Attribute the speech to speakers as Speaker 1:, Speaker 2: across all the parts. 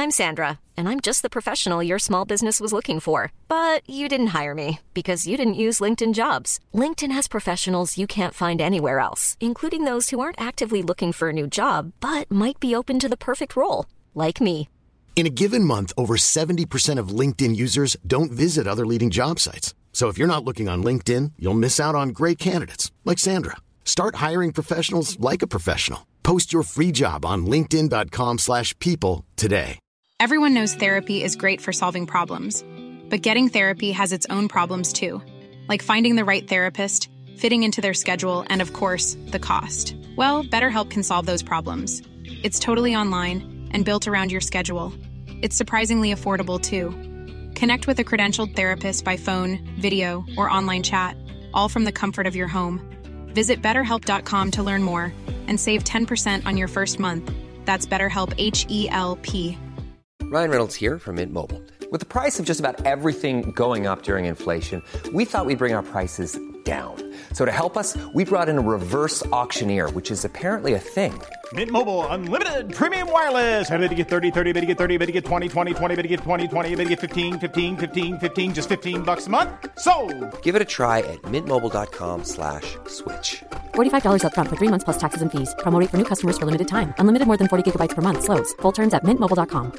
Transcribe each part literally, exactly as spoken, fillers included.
Speaker 1: I'm Sandra, and I'm just the professional your small business was looking for. But you didn't hire me because you didn't use LinkedIn Jobs. LinkedIn has professionals you can't find anywhere else, including those who aren't actively looking for a new job, but might be open to the perfect role, like me.
Speaker 2: In a given month, over seventy percent of LinkedIn users don't visit other leading job sites. So if you're not looking on LinkedIn, you'll miss out on great candidates like Sandra. Start hiring professionals like a professional. Post your free job on linkedin.com slash people today.
Speaker 3: Everyone knows therapy is great for solving problems, but getting therapy has its own problems too, like finding the right therapist, fitting into their schedule, and of course, the cost. Well, BetterHelp can solve those problems. It's totally online and built around your schedule. It's surprisingly affordable too. Connect with a credentialed therapist by phone, video, or online chat, all from the comfort of your home. Visit better help dot com to learn more and save ten percent on your first month. That's BetterHelp, H E L P.
Speaker 4: Ryan Reynolds here from Mint Mobile. With the price of just about everything going up during inflation, we thought we'd bring our prices down. So to help us, we brought in a reverse auctioneer, which is apparently a thing.
Speaker 5: Mint Mobile Unlimited Premium Wireless. How to get thirty, thirty, how to get thirty, how to get twenty, twenty, twenty, how to get twenty, twenty, how to get fifteen, fifteen, fifteen, fifteen, just fifteen bucks a month? Sold!
Speaker 4: Give it a try at mintmobile.com slash switch.
Speaker 6: forty-five dollars up front for three months plus taxes and fees. Promo rate for new customers for limited time. Unlimited more than forty gigabytes per month. Slows full terms at mint mobile dot com.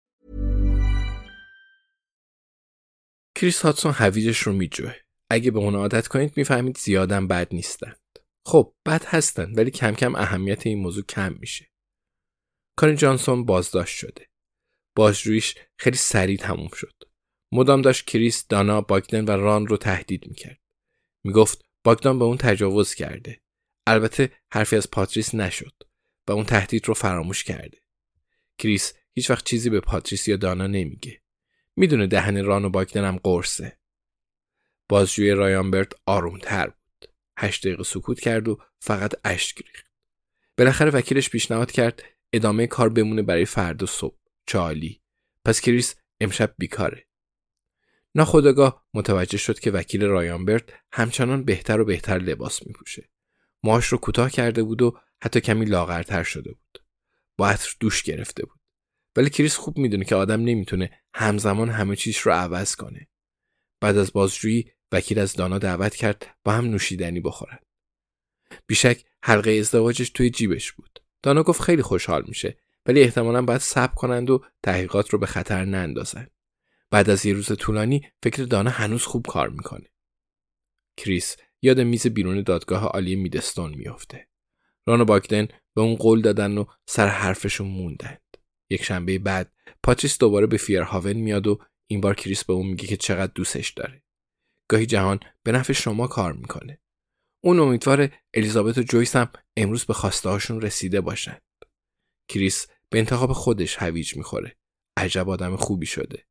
Speaker 7: کریس هاتسون هویجش رو میجوه. اگه به اون عادت کنید میفهمید زیادم بد نیستند. خب بد هستن ولی کم کم اهمیت این موضوع کم میشه. کانی جانسون بازداشت شده. بازجوییش خیلی سریع تموم شد. مدام داشت کریس، دانا، باگدن و ران رو تهدید میکرد. میگفت باگدان به اون تجاوز کرده. البته حرفی از پاتریس نشد و اون تهدید رو فراموش کرده. کریس هیچ وقت چیزی به پاتریس یا دانا نمیگه. میدونه دهن ران و باگدن هم قرصه. بازجوی رایان برت آرومتر بود. هشت دقیقه سکوت کرد و فقط اشک ریخت. بالاخره وکیلش پیشنهاد کرد ادامه کار بمونه برای فردا صبح. چالی. پس کریس امشب بیکاره. ناخودآگاه متوجه شد که وکیل رایان برت همچنان بهتر و بهتر لباس میپوشه. موهاش رو کوتاه کرده بود و حتی کمی لاغرتر شده بود. با عطر دوش گرفته بود. ولی کریس خوب میدونه که آدم نمیتونه همزمان همه چیز رو عوض کنه. بعد از بازجویی وکیل از دانا دعوت کرد با هم نوشیدنی بخورن. بیشک حلقه ازدواجش توی جیبش بود. دانا گفت خیلی خوشحال میشه ولی احتمالاً باید صبر کنند و تحقیقات رو به خطر نندازن. بعد از یه روز طولانی فکر دانا هنوز خوب کار میکنه. کریس یاد میز بیرون دادگاه عالی میدستون میافته. ران و باگدن به اون قول دادن و سر حرفشون موندند. یک شنبه بعد پاتریس دوباره به فیرهاون میاد و این بار کریس به اون میگه که چقدر دوستش داره. گاهی جهان به نفع شما کار میکنه. اون امیدواره الیزابت و جویس هم امروز به خواسته هاشون رسیده باشن. کریس به انتخاب خودش هویج میخوره. عجب آدم خوبی شده.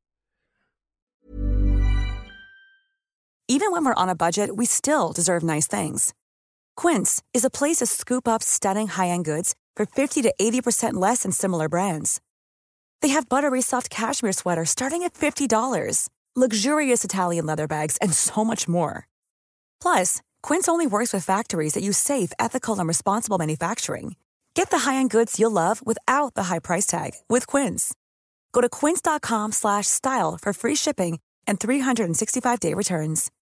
Speaker 8: Even when we're on a budget, we still deserve nice things. Quince is a place to scoop up stunning high-end goods for fifty to eighty percent less than similar brands. They have buttery soft cashmere sweaters starting at fifty dollars, luxurious Italian leather bags, and so much more. Plus, Quince only works with factories that use safe, ethical, and responsible manufacturing. Get the high-end goods you'll love without the high price tag with Quince. Go to quince dot com slash style for free shipping and three sixty-five day returns.